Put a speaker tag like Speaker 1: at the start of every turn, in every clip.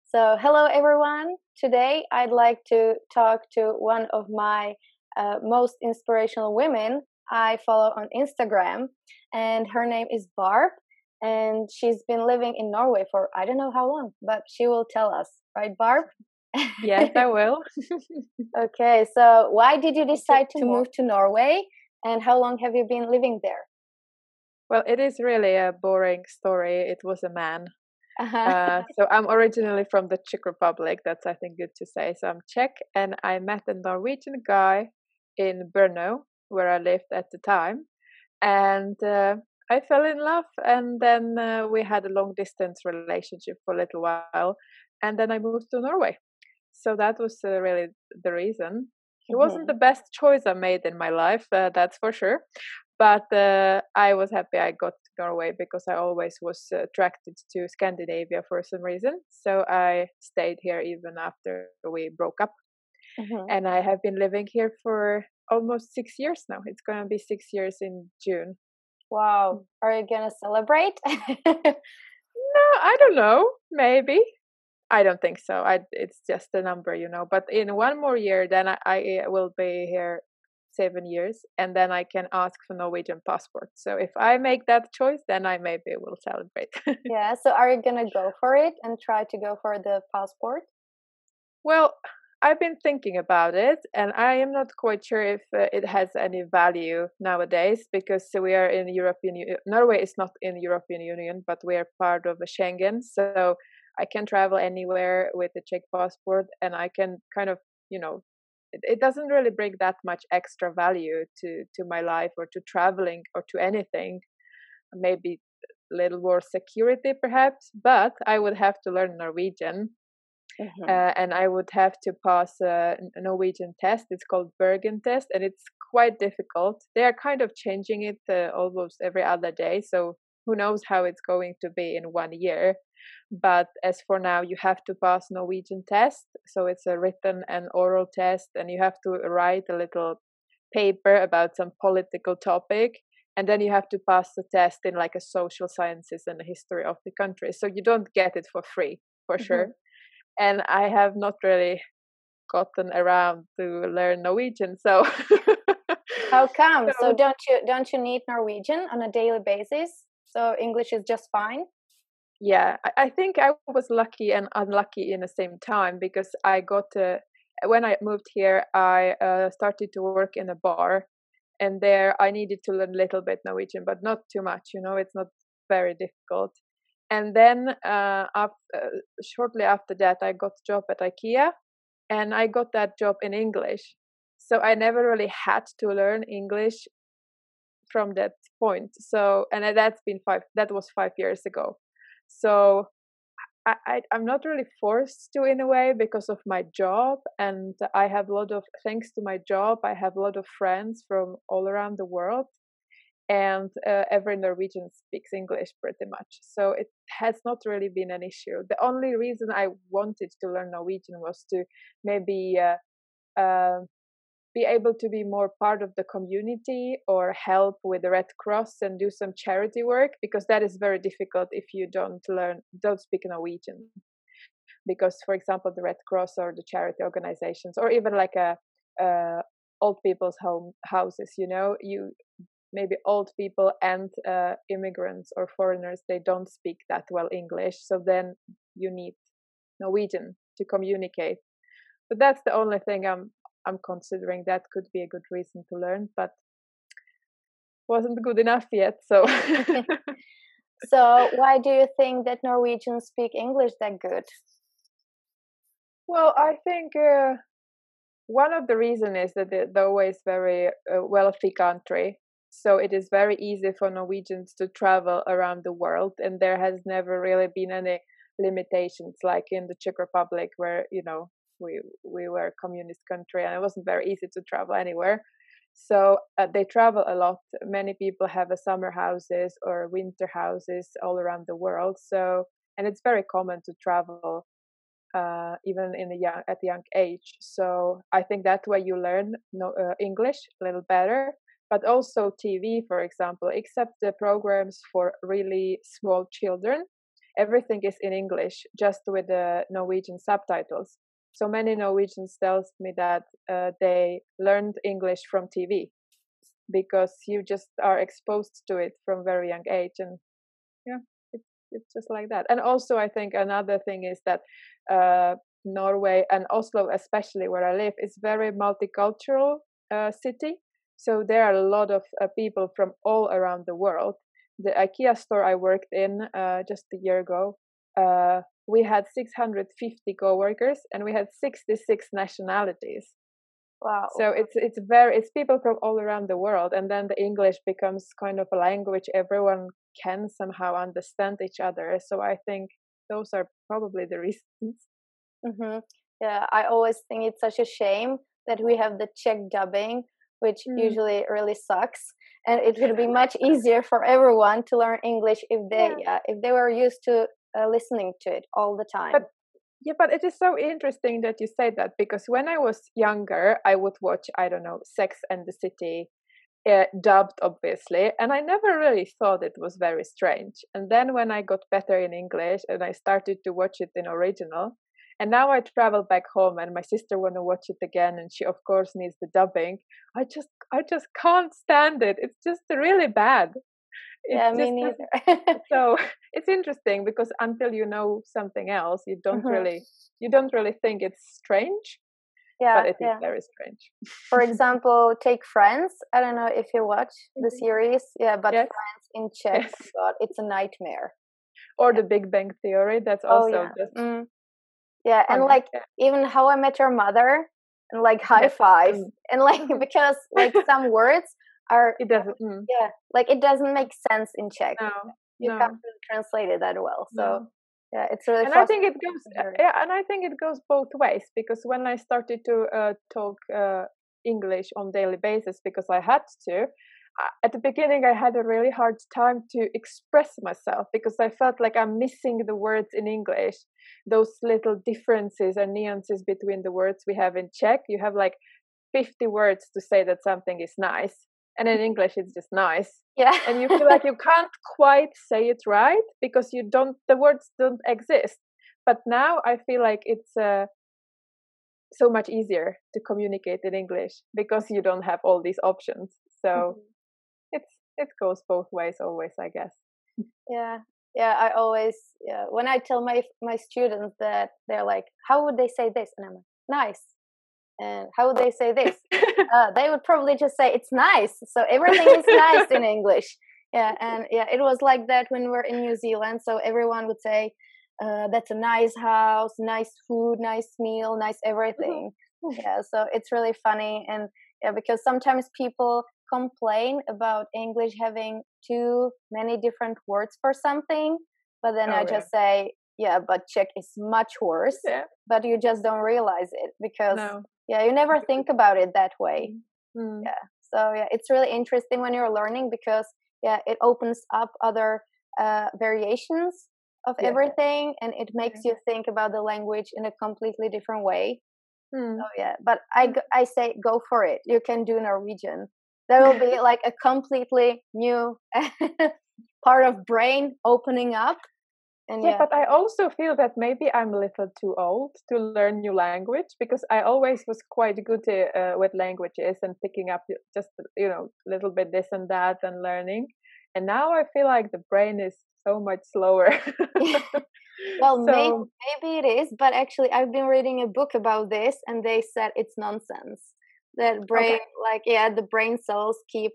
Speaker 1: So, hello everyone. Today, I'd like to talk to one of my most inspirational women I follow on Instagram, and her name is Barb. And she's been living in Norway for I don't know how long, but she will tell us, right, Barb?
Speaker 2: Yes, I will.
Speaker 1: Okay, so why did you
Speaker 2: I'll get
Speaker 1: decide
Speaker 2: to
Speaker 1: to
Speaker 2: more.
Speaker 1: move to Norway, and how long have you been living there?
Speaker 2: Well, it is really a boring story. It was a man.
Speaker 1: Uh-huh.
Speaker 2: So I'm originally from the Czech Republic. That's, I think, good to say. So I'm Czech, and I met a Norwegian guy in Brno, where I lived at the time, and I fell in love. And then we had a long distance relationship for a little while, and then I moved to Norway. So that was really the reason. It wasn't the
Speaker 1: Mhm.
Speaker 2: best choice I made in my life, that's for sure. But I was happy I got to Norway because I always was attracted to Scandinavia for some reason. So I stayed here even after we broke up.
Speaker 1: Mhm.
Speaker 2: And I have been living here for almost 6 years now. It's going to be 6 years in June.
Speaker 1: Wow. Are you gonna celebrate?
Speaker 2: No, I don't know. Maybe. I don't think so. It's just a number. But in one more year, then I will be here 7 years, and then I can ask for Norwegian passport. So if I make that choice, then I maybe will celebrate.
Speaker 1: Yeah, so are you gonna go for it and try to go for the passport?
Speaker 2: Well, I've been thinking about it, and I am not quite sure if it has any value nowadays because we are in European Union. Norway is not in the European Union, but we are part of the Schengen, so I can travel anywhere with a Czech passport, and I can kind of, it doesn't really bring that much extra value to my life or to traveling or to anything. Maybe a little more security, perhaps, but I would have to learn Norwegian,
Speaker 1: Hmm.
Speaker 2: and I would have to pass a Norwegian test. It's called Bergen test, and it's quite difficult. They are kind of changing it almost every other day, so who knows how it's going to be in 1 year. But as for now, you have to pass Norwegian test, so it's a written and oral test, and you have to write a little paper about some political topic. And then you have to pass the test in like a social sciences and a history of the country. So you don't get it for free, for sure.
Speaker 1: Hmm.
Speaker 2: And I have not really gotten around to learn Norwegian. So,
Speaker 1: How come? So
Speaker 2: so
Speaker 1: don't you need Norwegian on a daily basis? So English is just fine?
Speaker 2: yeah, I think I was lucky and unlucky in the same time because when I moved here, I started to work in a bar, and there I needed to learn a little bit Norwegian, but not too much. It's not very difficult. And then shortly after that, I got a job at IKEA, and I got that job in English. So I never really had to learn English from that point. So, and that was 5 years ago. So I'm not really forced to in a way because of my job, and I have a lot of, thanks to my job, I have a lot of friends from all around the world, and every Norwegian speaks English pretty much. So it has not really been an issue. The only reason I wanted to learn Norwegian was to maybe uh, be able to be more part of the community or help with the Red Cross and do some charity work, because that is very difficult if you don't speak Norwegian. Because, for example, the Red Cross or the charity organizations, or even like a old people's houses, you maybe old people and immigrants or foreigners, they don't speak that well English, so then you need Norwegian to communicate. But that's the only thing I'm considering. That could be a good reason to learn, but wasn't good enough yet. So
Speaker 1: So why do you think that Norwegians speak English that good?
Speaker 2: well, I think one of the reasons is that Norway is very wealthy country, so it is very easy for Norwegians to travel around the world, and there has never really been any limitations like in the Czech Republic, where we were a communist country and it wasn't very easy to travel anywhere. So they travel a lot. Many people have a summer houses or winter houses all around the world. So, and it's very common to travel even at a young age. So I think that way you learn English a little better. But also TV, for example, except the programs for really small children, everything is in English, just with the Norwegian subtitles. So many Norwegians tells me that they learned English from TV because you just are exposed to it from very young age, and yeah, it's just like that. And also, I think another thing is that Norway and Oslo, especially where I live, is very multicultural city. So there are a lot of people from all around the world. The IKEA store I worked in just a year ago, we had 650 coworkers, and we had 66 nationalities.
Speaker 1: Wow.
Speaker 2: So it's people from all around the world, and then the English becomes kind of a language everyone can somehow understand each other. So I think those are probably the reasons.
Speaker 1: Mm-hmm. Yeah, I always think it's such a shame that we have the Czech dubbing, which usually really sucks. And it would be much easier for everyone to learn English if they were used to listening to it all the time.
Speaker 2: But it is so interesting that you say that, because when I was younger, I would watch, I don't know, Sex and the City, dubbed obviously, and I never really thought it was very strange. And then when I got better in English and I started to watch it in original, and now I travel back home and my sister want to watch it again, and she of course needs the dubbing. I just can't stand it. It's just really bad.
Speaker 1: Yeah, me neither.
Speaker 2: So it's interesting because until you know something else, you don't really think it's strange.
Speaker 1: Yeah,
Speaker 2: but it is very strange.
Speaker 1: For example, take Friends. I don't know if you watch the series. Yeah, but Friends in Czech, God, it's a nightmare.
Speaker 2: Or The Big Bang Theory. That's also just
Speaker 1: yeah, and like even How I Met Your Mother, and like High Five, and like because like some words are
Speaker 2: it doesn't
Speaker 1: like it doesn't make sense in Czech. You
Speaker 2: No.
Speaker 1: can't really translate it that well. So yeah, it's really.
Speaker 2: And I think it goes. And I think it goes both ways, because when I started to talk English on daily basis, because I had to. At the beginning, I had a really hard time to express myself because I felt like I'm missing the words in English. Those little differences and nuances between the words we have in Czech. You have like 50 words to say that something is nice. And in English, it's just nice.
Speaker 1: Yeah.
Speaker 2: And you feel like you can't quite say it right because the words don't exist. But now I feel like it's so much easier to communicate in English because you don't have all these options. So it goes both ways always, I guess.
Speaker 1: Yeah. I always, when I tell my students that, they're like, how would they say this? And I'm like, nice. And how would they say this? They would probably just say it's nice. So everything is nice in English. Yeah, and it was like that when we were in New Zealand. So everyone would say, that's a nice house, nice food, nice meal, nice everything. Yeah, so it's really funny. And because sometimes people complain about English having too many different words for something, but then I just say, but Czech is much worse, but you just don't realize it because you never think about it that way. So it's really interesting when you're learning because it opens up other variations of everything, and it makes you think about the language in a completely different way. So but I say go for it. You can do Norwegian. There will be like a completely new part of brain opening up. And
Speaker 2: but I also feel that maybe I'm a little too old to learn new language, because I always was quite good with languages and picking up just a little bit this and that and learning. And now I feel like the brain is so much slower.
Speaker 1: Well, maybe it is, but actually I've been reading a book about this, and they said it's nonsense. That brain, the brain cells keep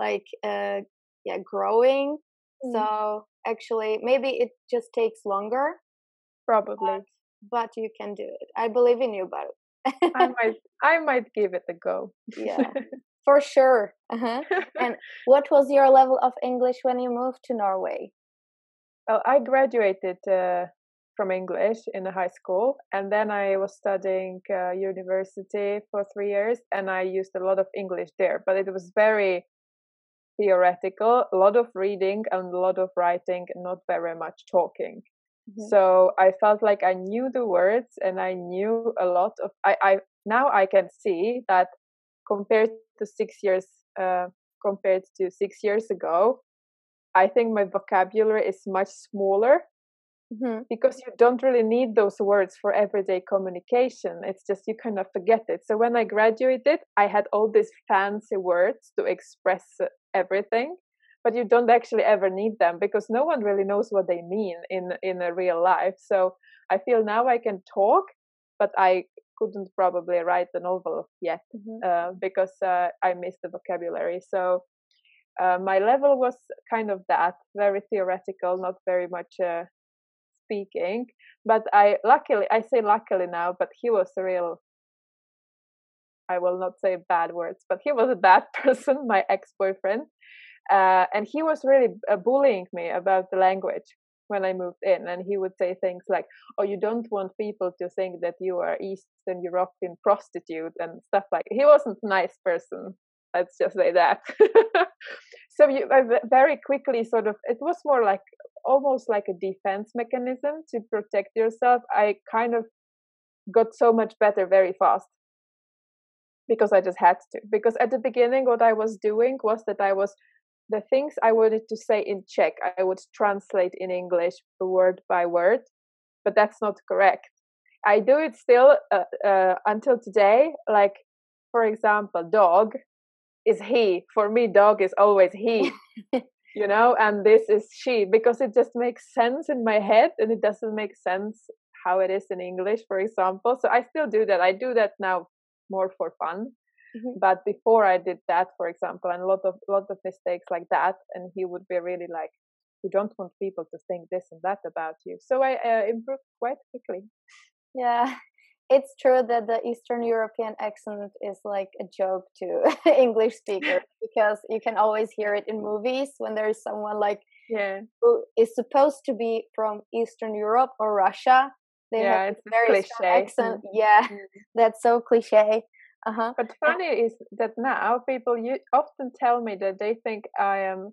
Speaker 1: growing. So actually, maybe it just takes longer.
Speaker 2: Probably.
Speaker 1: But you can do it. I believe in you, but
Speaker 2: I might give it a go.
Speaker 1: Yeah, for sure. And what was your level of English when you moved to Norway?
Speaker 2: Well, I graduated from English in the high school, and then I was studying university for 3 years, and I used a lot of English there, but it was very theoretical, a lot of reading and a lot of writing, and not very much talking. So I felt like I knew the words and I knew a lot of. I now I can see that compared to 6 years ago, I think my vocabulary is much smaller because you don't really need those words for everyday communication. It's just you kind of forget it. So when I graduated, I had all these fancy words to express everything, but you don't actually ever need them because no one really knows what they mean in a real life. So I feel now I can talk, but I couldn't probably write a novel yet because I missed the vocabulary. So my level was kind of that, very theoretical, not very much speaking. But I say luckily now, but he was a real, I will not say bad words, but he was a bad person, my ex-boyfriend. And he was really bullying me about the language when I moved in. And he would say things like, oh, you don't want people to think that you are Eastern European prostitute and stuff like that. He wasn't a nice person. Let's just say that. So I very quickly sort of, it was more like almost like a defense mechanism to protect yourself. I kind of got so much better very fast because I just had to. Because at the beginning, what I was doing was that the things I wanted to say in Czech, I would translate in English word by word, but that's not correct. I do it still until today. Like, for example, dog is he. For me, dog is always he, and this is she, because it just makes sense in my head and it doesn't make sense how it is in English, for example. So I still do that. I do that now more for fun. But before I did that, for example, and a lot of mistakes like that, and he would be really like, you don't want people to think this and that about you. So I improved quite quickly.
Speaker 1: Yeah, it's true that the Eastern European accent is like a joke to English speakers because you can always hear it in movies when there is someone like who is supposed to be from Eastern Europe or Russia. They have a very strong accent. Yeah, that's so cliche.
Speaker 2: But funny is that now people often tell me that they think I am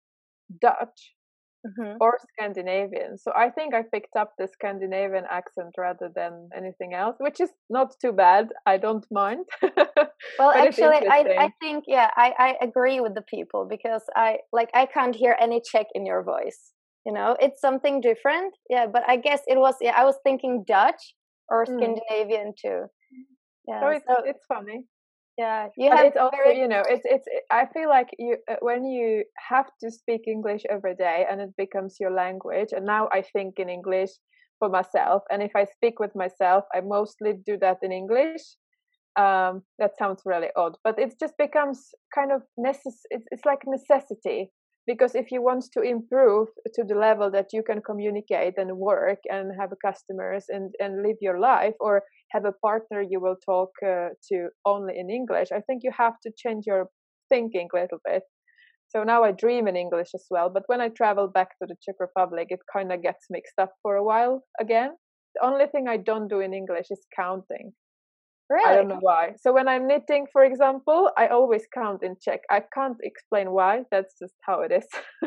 Speaker 2: Dutch or Scandinavian. So I think I picked up the Scandinavian accent rather than anything else, which is not too bad. I don't mind.
Speaker 1: Well, actually, I think, I agree with the people because I can't hear any Czech in your voice. It's something different. Yeah, but I guess it was, I was thinking Dutch or Scandinavian too. Yeah,
Speaker 2: so it's funny.
Speaker 1: Yeah,
Speaker 2: it's also it's I feel like you when you have to speak English every day and it becomes your language. And now I think in English for myself, and if I speak with myself, I mostly do that in English. That sounds really odd, but it just becomes kind of it's like necessity. Because if you want to improve to the level that you can communicate and work and have customers and live your life, or have a partner you will talk to only in English, I think you have to change your thinking a little bit. So now I dream in English as well. But when I travel back to the Czech Republic, it kind of gets mixed up for a while again. The only thing I don't do in English is counting.
Speaker 1: Really?
Speaker 2: I don't know why. So when I'm knitting, for example, I always count in Czech. I can't explain why. That's just how it is.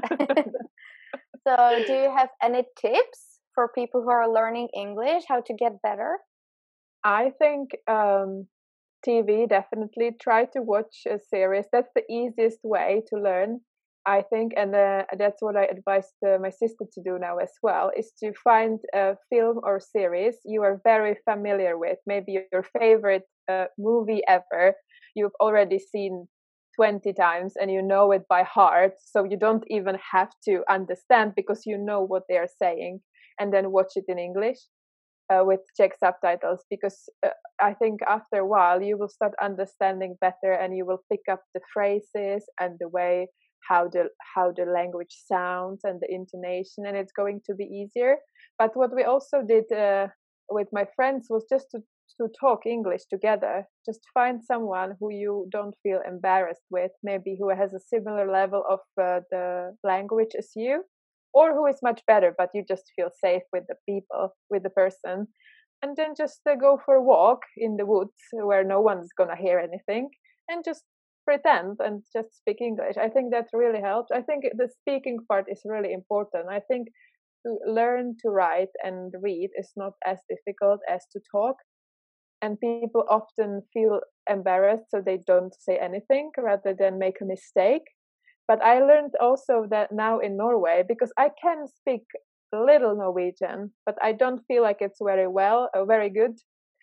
Speaker 1: So do you have any tips for people who are learning English, how to get better?
Speaker 2: I think TV, definitely. Try to watch a series. That's the easiest way to learn, I think. And that's what I advise my sister to do now as well, is to find a film or series you are very familiar with. Maybe your favorite movie ever, you've already seen 20 times and you know it by heart. So you don't even have to understand because you know what they are saying. And then watch it in English. With Czech subtitles, because I think after a while you will start understanding better and you will pick up the phrases and the way how the language sounds and the intonation, and it's going to be easier. But what we also did with my friends was just to talk English together. Just find someone who you don't feel embarrassed with, maybe who has a similar level of the language as you, or who is much better, but you just feel safe with the person. And then just go for a walk in the woods where no one's gonna hear anything, and just pretend and just speak English. I think that really helps. I think the speaking part is really important. I think to learn to write and read is not as difficult as to talk. And people often feel embarrassed, so they don't say anything rather than make a mistake. But I learned also that now in Norway, because I can speak little Norwegian, but I don't feel like it's very good.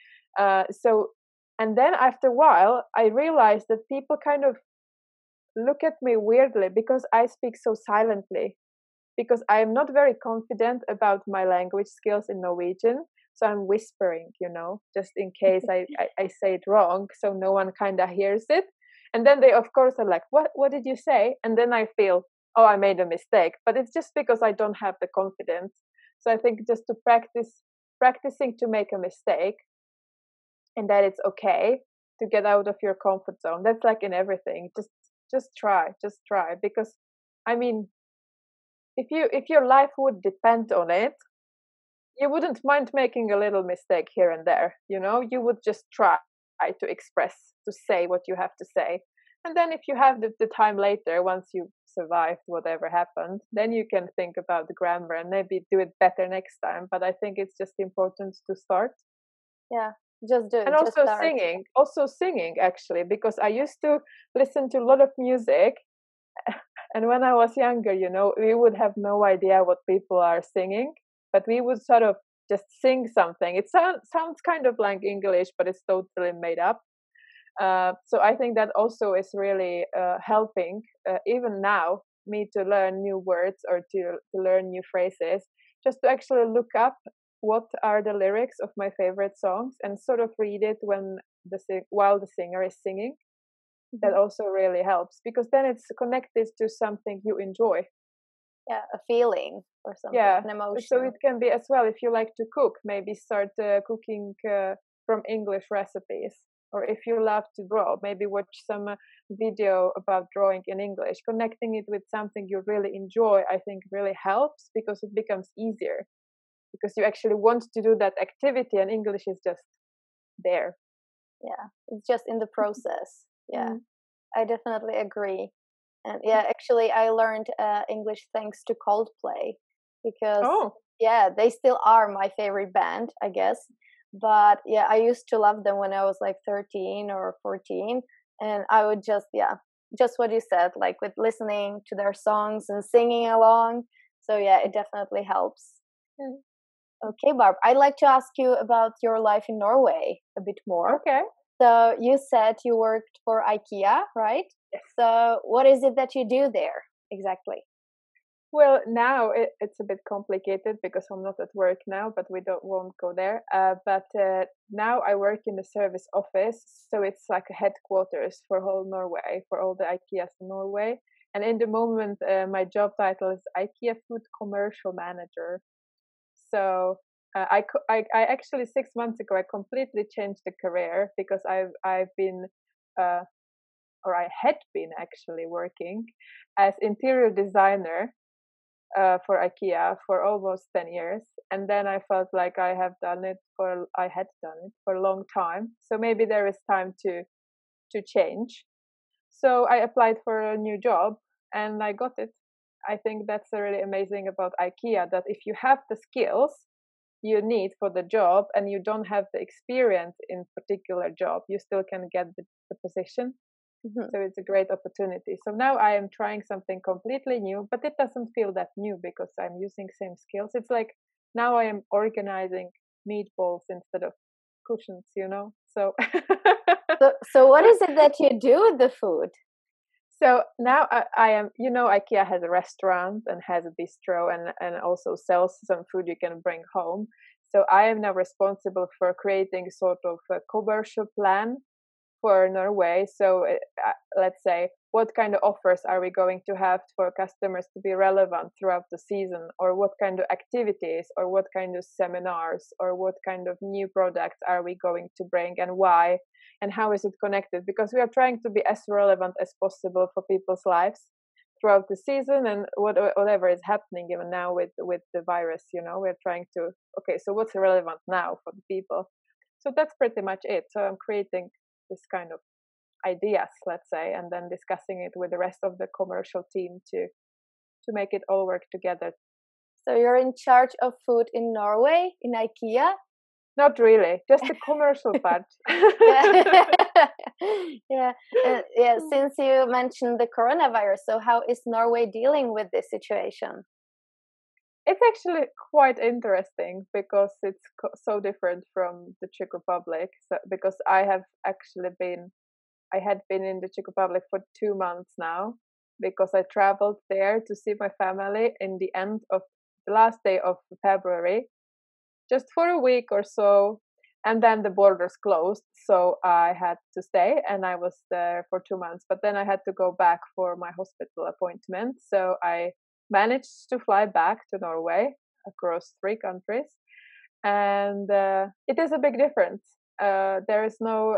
Speaker 2: So, and then after a while, I realized that people kind of look at me weirdly because I speak so silently, because I am not very confident about my language skills in Norwegian. So I'm whispering, just in case I say it wrong, so no one kind of hears it. And then they, of course, are like, what did you say? And then I feel, oh, I made a mistake. But it's just because I don't have the confidence. So I think just to practicing to make a mistake, and that it's okay to get out of your comfort zone. That's like in everything. Just try, because I mean, if your life would depend on it, you wouldn't mind making a little mistake here and there. You would just try to express, to say what you have to say. And then if you have the time later, once you've survived whatever happened, then you can think about the grammar and maybe do it better next time. But I think it's just important to start.
Speaker 1: Yeah, just do it.
Speaker 2: And also singing actually, because I used to listen to a lot of music. And when I was younger, we would have no idea what people are singing, but we would sort of just sing something. It sounds kind of like English, but it's totally made up. So I think that also is really helping, even now, me to learn new words or to learn new phrases, just to actually look up what are the lyrics of my favorite songs and sort of read it while the singer is singing. That also really helps, because then it's connected to something you enjoy.
Speaker 1: Yeah, a feeling or something, an emotion.
Speaker 2: So it can be as well, if you like to cook, maybe start cooking from English recipes. Or if you love to draw, maybe watch some video about drawing in English. Connecting it with something you really enjoy, I think really helps, because it becomes easier. Because you actually want to do that activity, and English is just there.
Speaker 1: Yeah, it's just in the process. Yeah, I definitely agree. And yeah, actually, I learned English thanks to Coldplay, because they still are my favorite band, I guess. But yeah, I used to love them when I was like 13 or 14, and I would just what you said, like with listening to their songs and singing along. So yeah, it definitely helps. Okay, Barb, I'd like to ask you about your life in Norway a bit more.
Speaker 2: Okay.
Speaker 1: So you said you worked for IKEA, right?
Speaker 2: Yes.
Speaker 1: So what is it that you do there exactly?
Speaker 2: Well, now it's a bit complicated because I'm not at work now, but won't go there. But now I work in the service office, so it's like a headquarters for whole Norway, for all the IKEAs in Norway. And in the moment, my job title is IKEA Food Commercial Manager. So I actually 6 months ago I completely changed the career, because I've been or I had been actually working as interior designer for IKEA for almost 10 years, and then I felt like I had done it for a long time. So maybe there is time to change. So I applied for a new job and I got it. I think that's really amazing about IKEA, that if you have the skills you need for the job and you don't have the experience in particular job, you still can get the position. So it's a great opportunity. So now I am trying something completely new, but it doesn't feel that new because I'm using same skills. It's like now I am organizing meatballs instead of cushions, So
Speaker 1: so what is it that you do with the food?
Speaker 2: So now I am, IKEA has a restaurant and has a bistro and also sells some food you can bring home. So I am now responsible for creating sort of a commercial plan for Norway. So let's say, what kind of offers are we going to have for customers to be relevant throughout the season, or what kind of activities, or what kind of seminars, or what kind of new products are we going to bring, and why, and how is it connected? Because we are trying to be as relevant as possible for people's lives throughout the season, and whatever is happening even now with the virus, we're trying to, okay, so what's relevant now for the people? So that's pretty much it. So I'm creating this kind of ideas, let's say, and then discussing it with the rest of the commercial team to make it all work together.
Speaker 1: So you're in charge of food in Norway, in IKEA?
Speaker 2: Not really, just the commercial part.
Speaker 1: Yeah. Since you mentioned the coronavirus, so how is Norway dealing with this situation?
Speaker 2: It's actually quite interesting because it's so different from the Czech Republic. So, because I had been in the Czech Republic for 2 months now, because I traveled there to see my family in the end of the last day of February, just for a week or so. And then the borders closed. So I had to stay, and I was there for 2 months. But then I had to go back for my hospital appointment. So I managed to fly back to Norway across 3 countries. And it is a big difference. There is no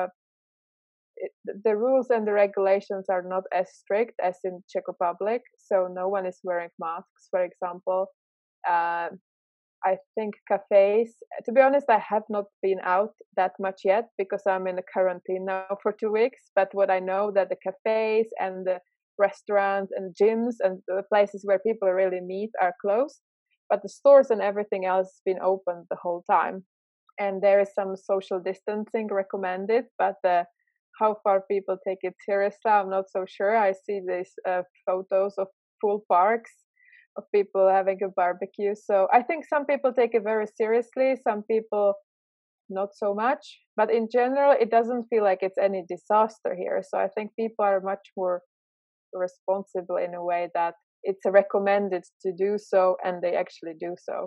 Speaker 2: the rules and the regulations are not as strict as in Czech Republic. So no one is wearing masks, for example. Uh, I think cafes, to be honest, I have not been out that much yet because I'm in a quarantine now for 2 weeks. But what I know that the cafes and the restaurants and gyms and the places where people really meet are closed. But the stores and everything else has been open the whole time. And there is some social distancing recommended, but how far people take it seriously, I'm not so sure. I see these photos of full parks of people having a barbecue. So I think some people take it very seriously, some people not so much. But in general, it doesn't feel like it's any disaster here. So I think people are much more responsible in a way that it's recommended to do so, and they actually do so.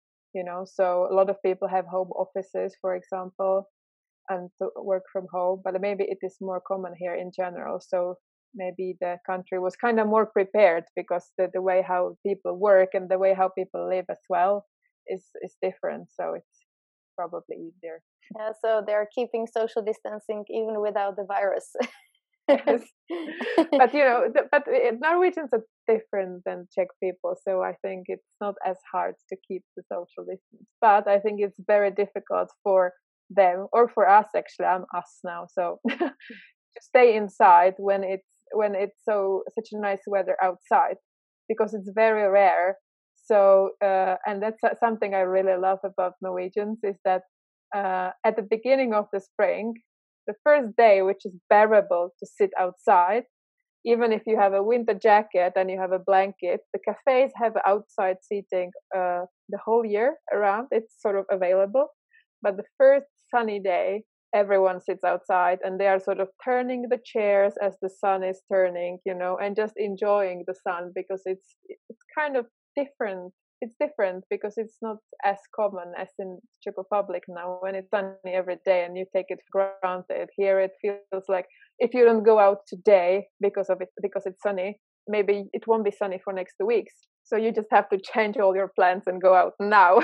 Speaker 2: So a lot of people have home offices, for example, and to work from home, but maybe it is more common here in general. So maybe the country was kind of more prepared because the way how people work and the way how people live as well is different. So it's probably easier.
Speaker 1: Yeah, so they're keeping social distancing even without the virus.
Speaker 2: Yes. But Norwegians are different than Czech people, so I think it's not as hard to keep the social distance. But I think it's very difficult for them, or for us actually. I'm us now, so to stay inside when it's such a nice weather outside, because it's very rare. So and that's something I really love about Norwegians, is that at the beginning of the spring, the first day, which is bearable to sit outside, even if you have a winter jacket and you have a blanket, the cafes have outside seating the whole year around. It's sort of available. But the first sunny day, everyone sits outside and they are sort of turning the chairs as the sun is turning, and just enjoying the sun, because it's kind of different. It's different because it's not as common as in Czech Republic now, when it's sunny every day and you take it for granted. Here it feels like if you don't go out today because it's sunny, maybe it won't be sunny for next 2 weeks. So you just have to change all your plans and go out now.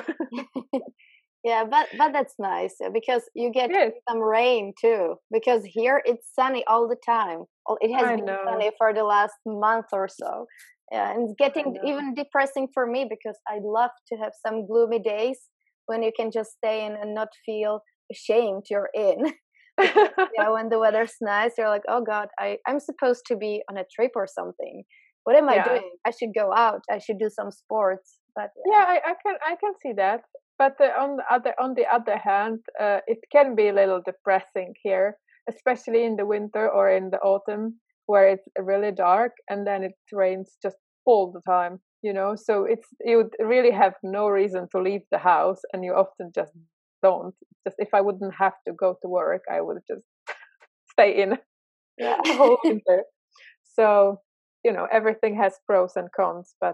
Speaker 1: Yeah, but that's nice because you get
Speaker 2: Yes.
Speaker 1: some rain too. Because here it's sunny all the time. It has been sunny for the last month or so. Yeah, and it's getting even depressing for me because I love to have some gloomy days when you can just stay in and not feel ashamed you're in. Because, yeah, when the weather's nice, you're like, oh God, I'm supposed to be on a trip or something. What am I doing? I should go out. I should do some sports. But
Speaker 2: I can see that. But on the other hand, it can be a little depressing here, especially in the winter or in the autumn, where it's really dark and then it rains just all the time. So you really have no reason to leave the house, and you often just don't. Just if I wouldn't have to go to work, I would just stay in the whole winter. So everything has pros and cons, but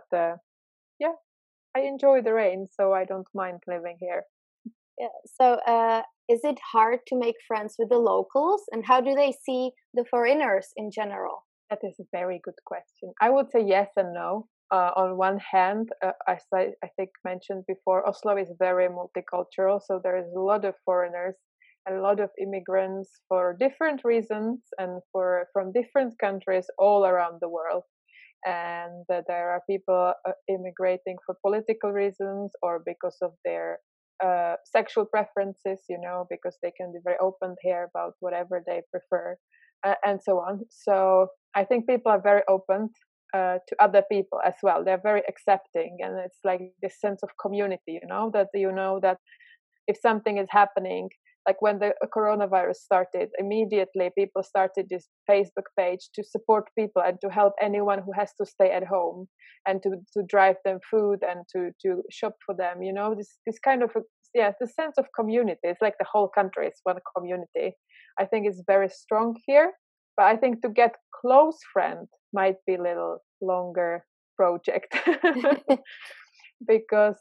Speaker 2: I enjoy the rain, so I don't mind living here.
Speaker 1: Yeah. So, is it hard to make friends with the locals, and how do they see the foreigners in general?
Speaker 2: That is a very good question. I would say yes and no. On one hand, as I think mentioned before, Oslo is very multicultural, so there is a lot of foreigners and a lot of immigrants for different reasons and from different countries all around the world. And there are people immigrating for political reasons or because of their sexual preferences, because they can be very open here about whatever they prefer, and so on. So I think people are very open to other people as well. They're very accepting, and it's like this sense of community, that that if something is happening, like when the coronavirus started, immediately people started this Facebook page to support people and to help anyone who has to stay at home, and to drive them food and to shop for them. You know, this kind of the sense of community. It's like the whole country is one community. I think it's very strong here, but I think to get close friend might be a little longer project because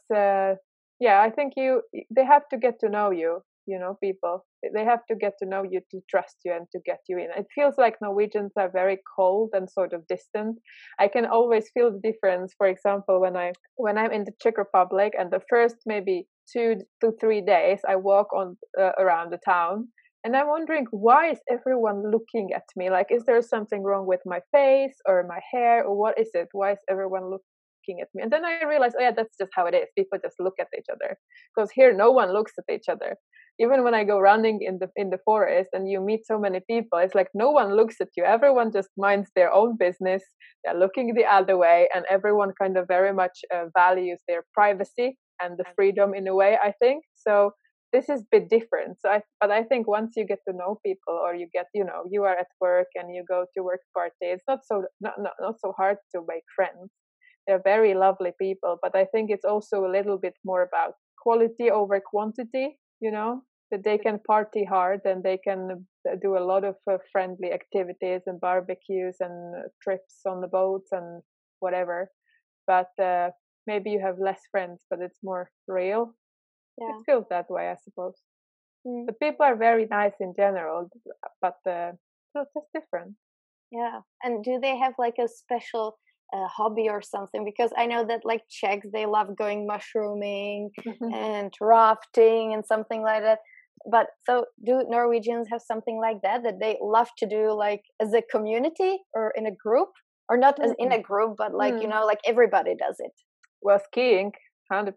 Speaker 2: I think they have to get to know you. You know, people, they have to get to know you, to trust you, and to get you in. It feels like Norwegians are very cold and sort of distant. I can always feel the difference. For example, when I'm in the Czech Republic, and the first maybe 2 to 3 days I walk on around the town, and I'm wondering, why is everyone looking at me? Like, is there something wrong with my face or my hair, or what is it? Why is everyone looking at me? And then I realized, oh yeah, that's just how it is. People just look at each other, because here no one looks at each other. Even when I go running in the forest and you meet so many people, it's like no one looks at you. Everyone just minds their own business. They're looking the other way, and everyone kind of very much values their privacy and the freedom in a way, I think. So this is a bit different. But I think once you get to know people, or you get, you are at work and you go to work party, it's not so hard to make friends. They're very lovely people, but I think it's also a little bit more about quality over quantity. That they can party hard, and they can do a lot of friendly activities and barbecues and trips on the boats and whatever. But maybe you have less friends, but it's more real. It feels that way, I suppose. But people are very nice in general, but it's just different.
Speaker 1: Yeah. And do they have like a special hobby or something? Because I know that like Czechs, they love going mushrooming and rafting and something like that. But so do Norwegians have something like that they love to do, like as a community or in a group, or not as in a group, but like, like everybody does it?
Speaker 2: Well, skiing, 100%.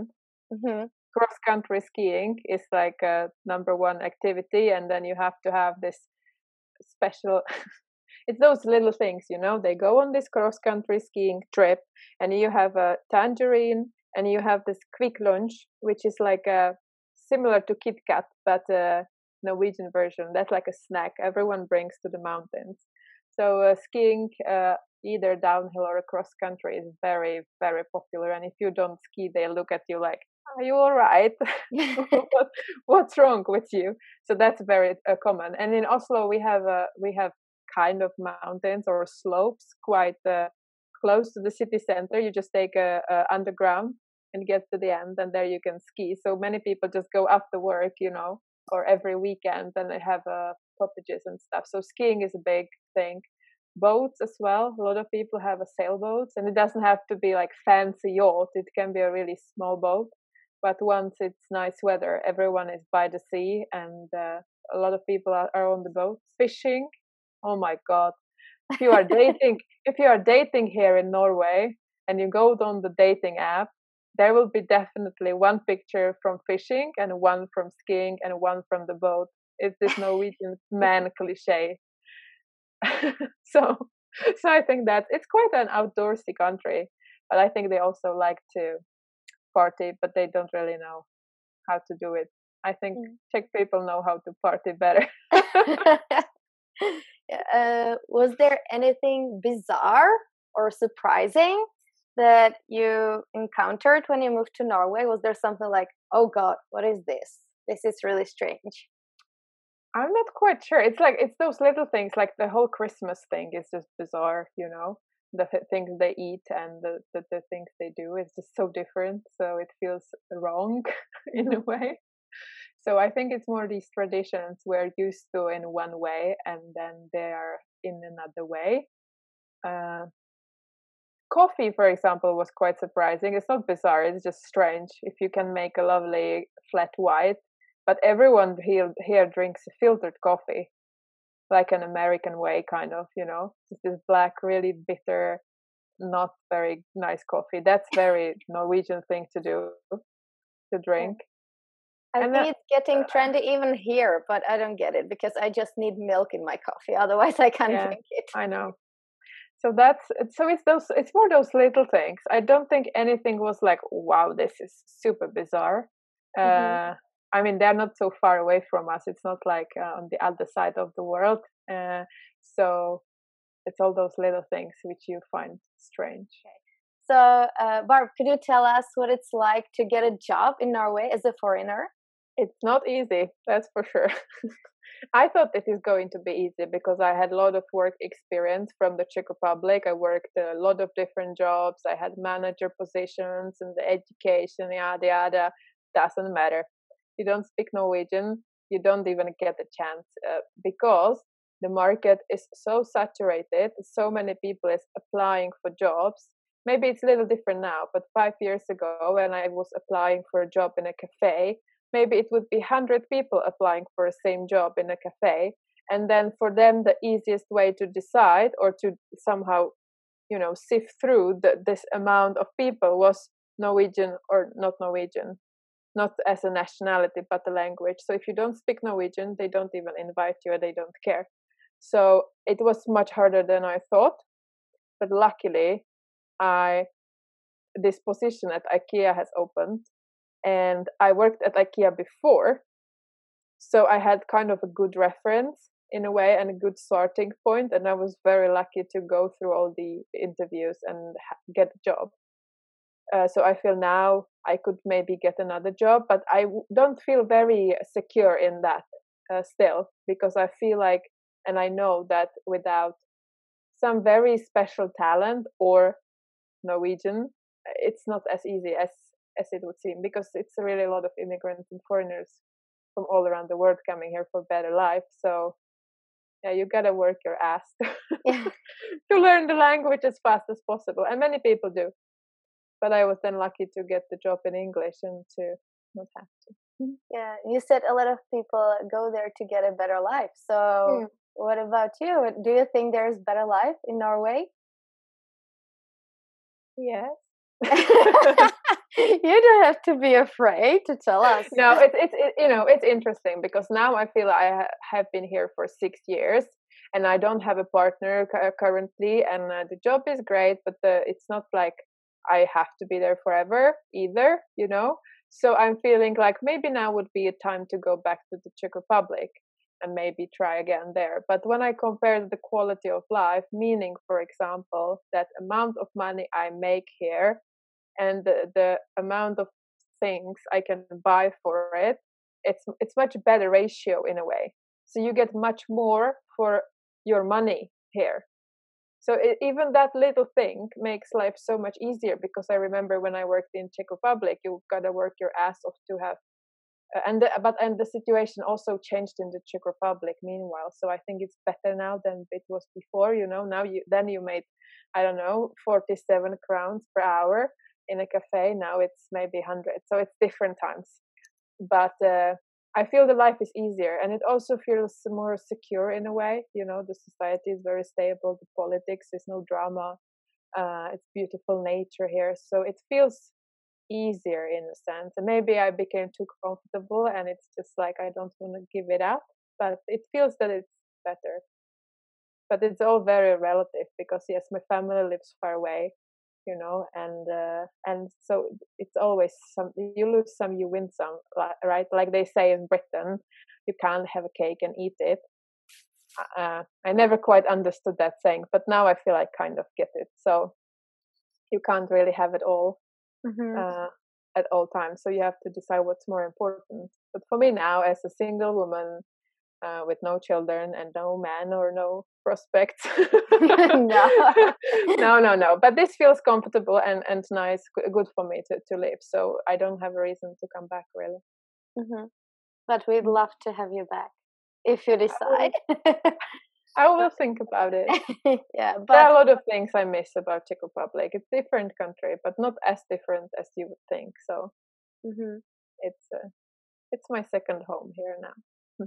Speaker 2: Cross-country skiing is like a #1 activity, and then you have to have this special it's those little things, they go on this cross-country skiing trip, and you have a tangerine, and you have this quick lunch, which is like similar to Kit Kat, but Norwegian version. That's like a snack everyone brings to the mountains. So skiing, either downhill or cross country, is very, very popular. And if you don't ski, they look at you like, "Are you all right? What's wrong with you?" So that's very common. And in Oslo, we have kind of mountains or slopes quite close to the city center. You just take a underground and get to the end, and there you can ski. So many people just go after work, or every weekend, and they have cottages and stuff. So skiing is a big thing. Boats as well. A lot of people have a sailboat, and it doesn't have to be like fancy yacht. It can be a really small boat. But once it's nice weather, everyone is by the sea, and a lot of people are on the boat. Fishing. Oh my God! If you are dating here in Norway, and you go on the dating app, there will be definitely one picture from fishing, and one from skiing, and one from the boat. It's this Norwegian man cliche. so I think that it's quite an outdoorsy country, but I think they also like to party, but they don't really know how to do it. I think Czech people know how to party better.
Speaker 1: Was there anything bizarre or surprising that you encountered when you moved to Norway? Was there something like, oh God, what is this? This is really strange.
Speaker 2: I'm not quite sure. It's those little things, like the whole Christmas thing is just bizarre, the things they eat and the things they do is just so different. So it feels wrong in a way. So I think it's more these traditions we're used to in one way, and then they are in another way. Coffee, for example, was quite surprising. It's not bizarre, it's just strange. If you can make a lovely flat white, but everyone here drinks filtered coffee, like an American way, kind of, Just this black, really bitter, not very nice coffee. That's very Norwegian thing to do, to drink.
Speaker 1: I think it's getting trendy even here, but I don't get it because I just need milk in my coffee. Otherwise, I can't drink it.
Speaker 2: I know. So it's more those little things. I don't think anything was like, wow, this is super bizarre. I mean, they're not so far away from us. It's not like on the other side of the world. So it's all those little things which you find strange.
Speaker 1: So, Barb, could you tell us what it's like to get a job in Norway as a foreigner?
Speaker 2: It's not easy, that's for sure. I thought it is going to be easy because I had a lot of work experience from the Czech Republic. I worked a lot of different jobs. I had manager positions and the education, yada yada. Doesn't matter. You don't speak Norwegian, you don't even get a chance because the market is so saturated. So many people is applying for jobs. Maybe it's a little different now, but 5 years ago when I was applying for a job in a cafe, maybe it would be 100 people applying for the same job in a cafe. And then for them, the easiest way to decide or to somehow, sift through this amount of people was Norwegian or not Norwegian, not as a nationality, but a language. So if you don't speak Norwegian, they don't even invite you or they don't care. So it was much harder than I thought. But luckily, this position at IKEA has opened, and I worked at IKEA before, so I had kind of a good reference in a way and a good starting point, and I was very lucky to go through all the interviews and get a job. So I feel now I could maybe get another job, but I don't feel very secure in that still, because I feel like, and I know that without some very special talent or Norwegian, it's not as easy as it would seem, because it's really a lot of immigrants and foreigners from all around the world coming here for better life. So yeah, you gotta work your ass to learn the language as fast as possible, and many people do. But I was then lucky to get the job in English and to not have to.
Speaker 1: Yeah, you said a lot of people go there to get a better life. So what about you? Do you think there's better life in Norway?
Speaker 2: Yes.
Speaker 1: You don't have to be afraid to tell us.
Speaker 2: No, it's interesting because now I feel I have been here for 6 years and I don't have a partner currently, and the job is great, but it's not like I have to be there forever either, So I'm feeling like maybe now would be a time to go back to the Czech Republic and maybe try again there. But when I compare the quality of life, meaning, for example, that amount of money I make here and the amount of things I can buy for it, it's much better ratio in a way. So you get much more for your money here. So even that little thing makes life so much easier, because I remember when I worked in Czech Republic, you gotta work your ass off to have, and the situation also changed in the Czech Republic meanwhile. So I think it's better now than it was before. Now you made, I don't know, 47 crowns per hour in a cafe. Now it's maybe 100. So it's different times. But I feel the life is easier, and it also feels more secure in a way. The society is very stable. The politics, there's no drama. It's beautiful nature here, so it feels easier in a sense. And maybe I became too comfortable, and it's just like I don't want to give it up. But it feels that it's better. But it's all very relative, because yes, my family lives far away. And so it's always you lose some, you win some, right? Like they say in Britain, you can't have a cake and eat it. I never quite understood that saying, but now I feel I kind of get it. So you can't really have it all at all times. So you have to decide what's more important. But for me now, as a single woman with no children and no man or no prospects. No. But this feels comfortable and nice, good for me to live. So I don't have a reason to come back, really.
Speaker 1: But we'd love to have you back if you decide.
Speaker 2: I will think about it.
Speaker 1: Yeah, but
Speaker 2: there are a lot of things I miss about Czech Republic. It's a different country, but not as different as you would think. So it's my second home here now.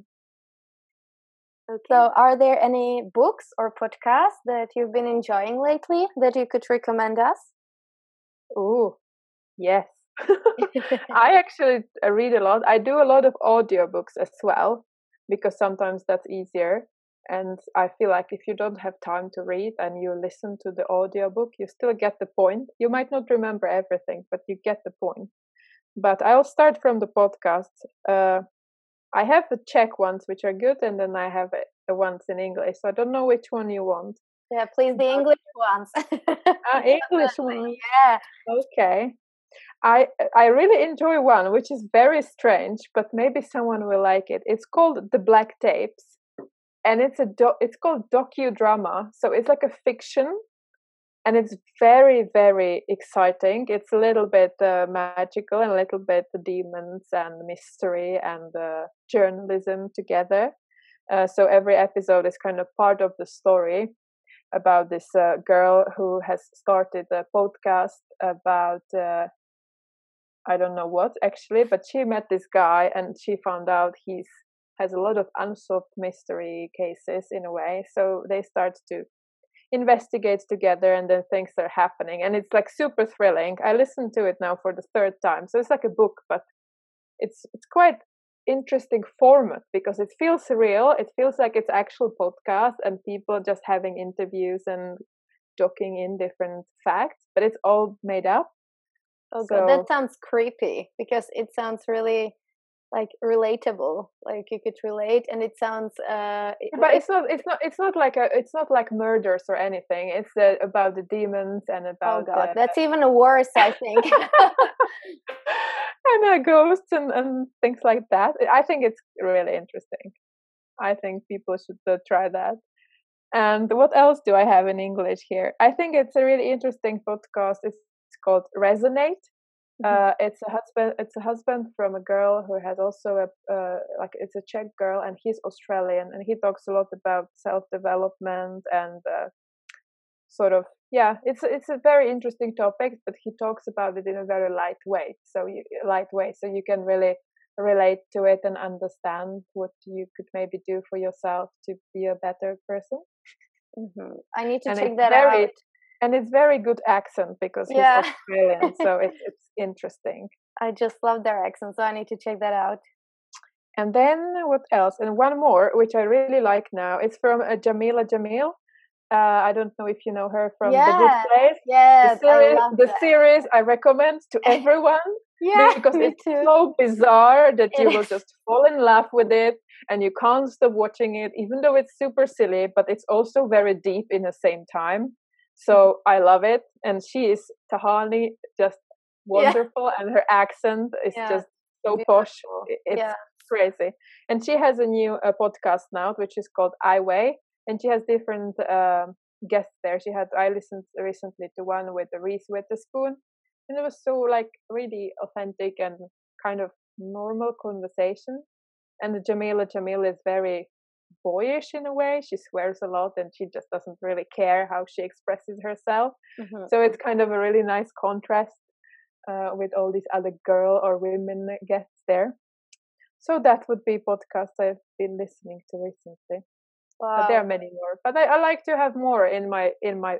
Speaker 1: Okay. So are there any books or podcasts that you've been enjoying lately that you could recommend us?
Speaker 2: Oh, yes. I actually read a lot. I do a lot of audiobooks as well, because sometimes that's easier. And I feel like if you don't have time to read and you listen to the audiobook, you still get the point. You might not remember everything, but you get the point. but I'll start from the podcast. I have the Czech ones, which are good, and then I have the ones in English. So I don't know which one you want.
Speaker 1: Yeah, please, the English ones.
Speaker 2: English one.
Speaker 1: Yeah.
Speaker 2: Okay. I really enjoy one, which is very strange, but maybe someone will like it. It's called The Black Tapes, and it's called docudrama. So it's like a fiction, and it's very, very exciting. It's a little bit magical and a little bit demons and mystery and journalism together. So every episode is kind of part of the story about this girl who has started a podcast about I don't know what actually, but she met this guy and she found out he has a lot of unsolved mystery cases in a way. So they start to investigate together, and then things are happening, and it's like super thrilling. I listened to it now for the third time, so it's like a book, but it's quite interesting format because it feels real. It feels like it's actual podcast and people just having interviews and talking in different facts, but it's all made up.
Speaker 1: Oh god, that sounds creepy because it sounds really like relatable, like you could relate, and it sounds
Speaker 2: but it's not like murders or anything. It's about the demons and about
Speaker 1: oh god, that's even worse, I think.
Speaker 2: And ghosts and things like that. I think it's really interesting. I think people should try that. And what else do I have in English here? I think it's a really interesting podcast. It's called Resonate. It's a husband from a girl who has also it's a Czech girl, and he's Australian, and he talks a lot about self-development and sort of, yeah, it's a very interesting topic, but he talks about it in a very lightweight, so you can really relate to it and understand what you could maybe do for yourself to be a better person.
Speaker 1: I need to check that out.
Speaker 2: And it's very good accent because he's Australian, so it's interesting.
Speaker 1: I just love their accent, so I need to check that out.
Speaker 2: And then what else? And one more, which I really like now. It's from Jameela Jamil. I don't know if you know her from The Good Place.
Speaker 1: Yeah,
Speaker 2: the series I recommend to everyone. Because it's so bizarre that you will just fall in love with it and you can't stop watching it, even though it's super silly, but it's also very deep in the same time. So I love it. And she is Tahani, just wonderful. And her accent is just so posh. It's crazy. And she has a new podcast now, which is called I Weigh. And she has different guests there. I listened recently to one with Reese Witherspoon. And it was so like really authentic and kind of normal conversation. And Jameela Jamil is very boyish in a way. She swears a lot and she just doesn't really care how she expresses herself. So it's kind of a really nice contrast with all these other girl or women guests there. So that would be podcasts I've been listening to recently. Wow. But there are many more. But I like to have more in my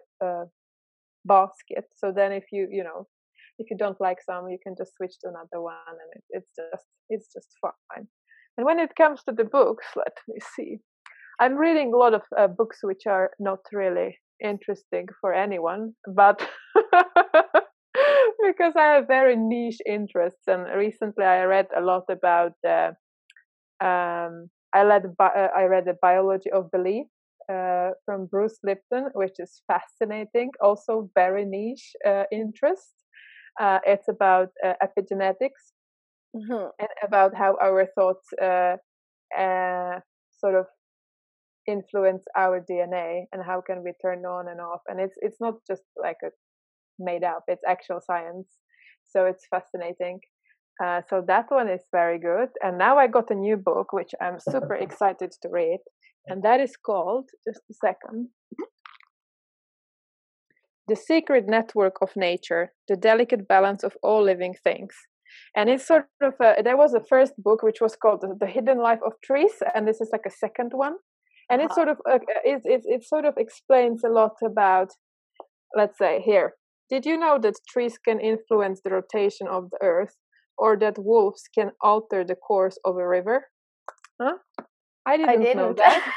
Speaker 2: basket. So then if you don't like some, you can just switch to another one, and it's just fine. And when it comes to the books, let me see. I'm reading a lot of books which are not really interesting for anyone, but because I have very niche interests. And recently I read a lot about I read The Biology of Belief from Bruce Lipton, which is fascinating, also very niche interest. It's about epigenetics and about how our thoughts sort of influence our DNA and how can we turn on and off. And it's not just like a made up, it's actual science. So it's fascinating. So that one is very good. And now I got a new book, which I'm super excited to read. And that is called, just a second, The Secret Network of Nature, The Delicate Balance of All Living Things. And it's sort of, there was a first book, which was called The Hidden Life of Trees. And this is like a second one. And it sort of, it sort of explains a lot about, let's say here, did you know that trees can influence the rotation of the earth, or that wolves can alter the course of a river? Huh? I didn't know that.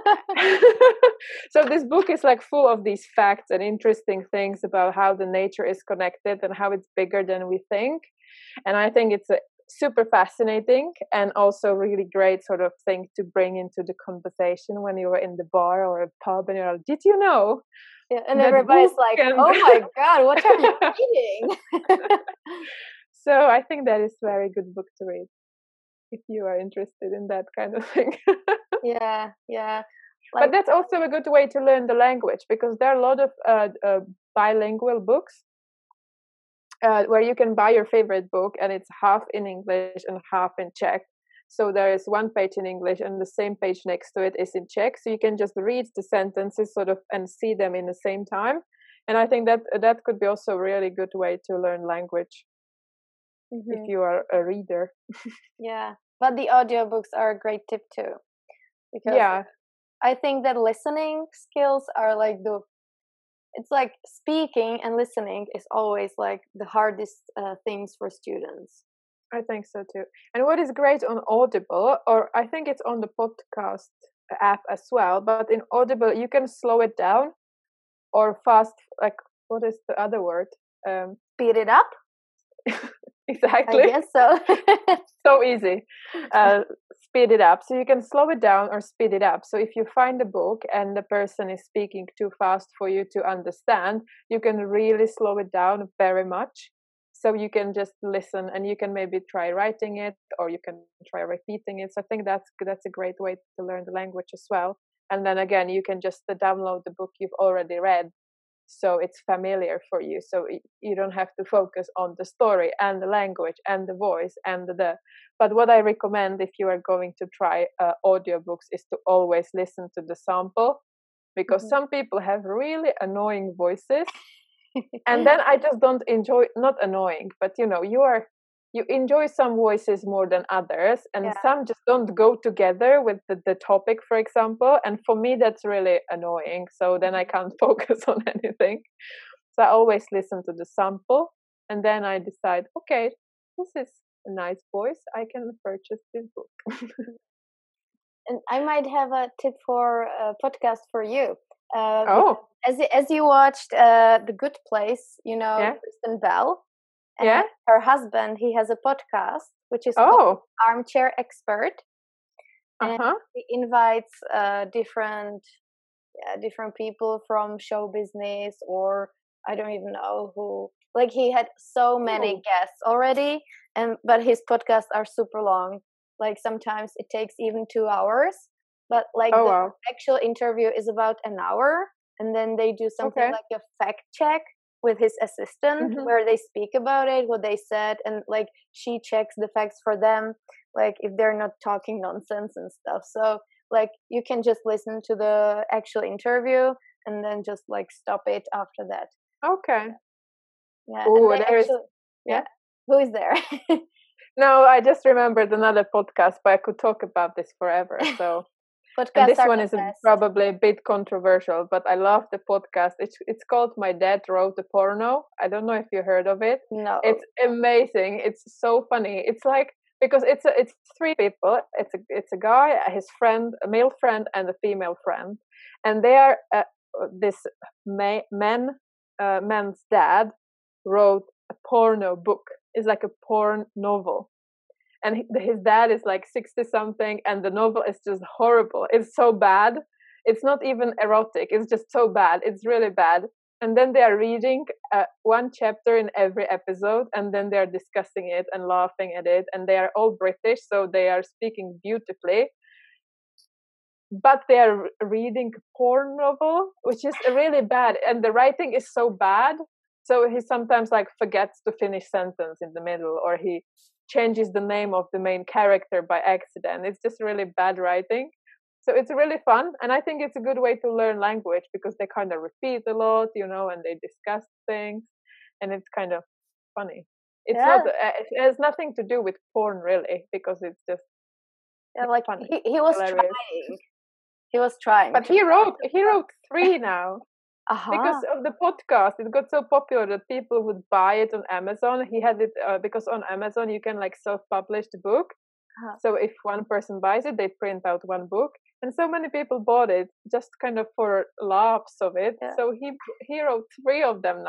Speaker 2: So this book is like full of these facts and interesting things about how the nature is connected and how it's bigger than we think. And I think it's a super fascinating and also really great sort of thing to bring into the conversation when you were in the bar or a pub and you're like, did you know?
Speaker 1: Yeah, and everybody's like, oh my God, what are you reading?
Speaker 2: So I think that is a very good book to read if you are interested in that kind of thing.
Speaker 1: Yeah.
Speaker 2: But that's also a good way to learn the language, because there are a lot of bilingual books where you can buy your favorite book and it's half in English and half in Czech. So there is one page in English and the same page next to it is in Czech. So you can just read the sentences sort of and see them in the same time. And I think that could be also a really good way to learn language if you are a reader.
Speaker 1: Yeah, but the audiobooks are a great tip too. Because I think that listening skills are like it's like speaking and listening is always like the hardest things for students.
Speaker 2: I think so too. And what is great on Audible, or I think it's on the podcast app as well, but in Audible you can slow it down or fast, like, what is the other word?
Speaker 1: Speed it up?
Speaker 2: Exactly.
Speaker 1: I guess so.
Speaker 2: So easy. Speed it up. So you can slow it down or speed it up. So if you find a book and the person is speaking too fast for you to understand, you can really slow it down very much. So you can just listen and you can maybe try writing it or you can try repeating it. So I think that's a great way to learn the language as well. And then again, you can just download the book you've already read, so it's familiar for you. So you don't have to focus on the story and the language and the voice and But what I recommend if you are going to try audiobooks is to always listen to the sample, because some people have really annoying voices. And then I just don't enjoy, not annoying, but you enjoy some voices more than others, and some just don't go together with the topic, for example. And for me, that's really annoying. So then I can't focus on anything. So I always listen to the sample, and then I decide, okay, this is a nice voice. I can purchase this book.
Speaker 1: And I might have a tip for a podcast for you. As you watched The Good Place, Kristen Bell. And her husband, he has a podcast which is called Armchair Expert. And he invites different people from show business, or I don't even know who. Like, he had so many guests already, but his podcasts are super long. Like, sometimes it takes even 2 hours, but like the actual interview is about an hour, and then they do something like a fact check with his assistant where they speak about it, what they said, and like she checks the facts for them, like if they're not talking nonsense and stuff. So like you can just listen to the actual interview and then just like stop it after that.
Speaker 2: Okay.
Speaker 1: Yeah. Ooh, who is there?
Speaker 2: No, I just remembered another podcast, but I could talk about this forever. So and this one is probably a bit controversial, but I love the podcast. It's called My Dad Wrote a Porno. I don't know if you heard of it.
Speaker 1: No.
Speaker 2: It's amazing. It's so funny. It's like, because it's 3 people. It's a guy, his friend, a male friend, and a female friend, and they are this man's dad wrote a porno book. It's like a porn novel. And his dad is like 60 something, and the novel is just horrible. It's so bad. It's not even erotic. It's just so bad. It's really bad. And then they are reading one chapter in every episode, and then they are discussing it and laughing at it. And they are all British, so they are speaking beautifully. But they are reading a porn novel, which is really bad. And the writing is so bad. So he sometimes like forgets to finish sentence in the middle, or he changes the name of the main character by accident. It's just really bad writing. So it's really fun. And I think it's a good way to learn language, because they kind of repeat a lot, and they discuss things, and it's kind of funny. It's not, it has nothing to do with porn really, because it's just
Speaker 1: like funny. He was hilarious. He was trying.
Speaker 2: But he wrote 3 now. Because of the podcast, it got so popular that people would buy it on Amazon. He had it because on Amazon you can like self-publish the book. So if one person buys it, they print out one book, and so many people bought it just kind of for laughs of it. So he wrote 3 of them now.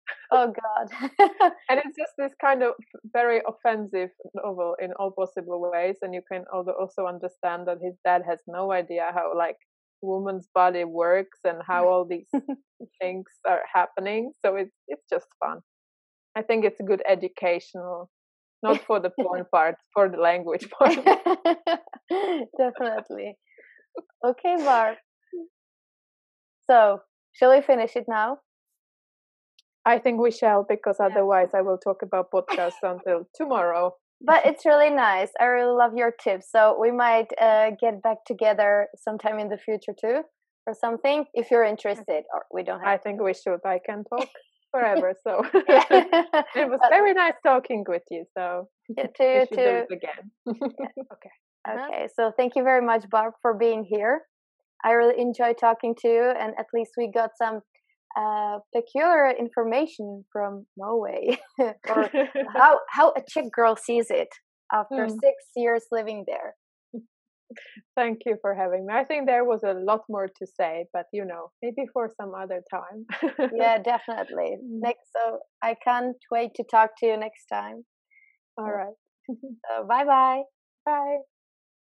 Speaker 1: Oh God.
Speaker 2: And it's just this kind of very offensive novel in all possible ways, and you can also understand that his dad has no idea how like woman's body works and how all these things are happening. So it's just fun. I think it's a good educational, not for the porn part, for the language part.
Speaker 1: Definitely. Okay, Barb. So, shall we finish it now?
Speaker 2: I think we shall, because otherwise I will talk about podcasts until tomorrow.
Speaker 1: But it's really nice. I really love your tips. So we might get back together sometime in the future too, or something, if you're interested. Or we don't have.
Speaker 2: I think we should. I can talk forever. So it was very nice talking with you. So
Speaker 1: to you
Speaker 2: we should
Speaker 1: too.
Speaker 2: do it again. Okay.
Speaker 1: Okay. So thank you very much, Barb, for being here. I really enjoyed talking to you, and at least we got some peculiar information from Norway, or how a Czech girl sees it after 6 years living there.
Speaker 2: Thank you for having me. I think there was a lot more to say, but maybe for some other time.
Speaker 1: Yeah, definitely. So I can't wait to talk to you next time.
Speaker 2: All right.
Speaker 1: So bye-bye.
Speaker 2: Bye.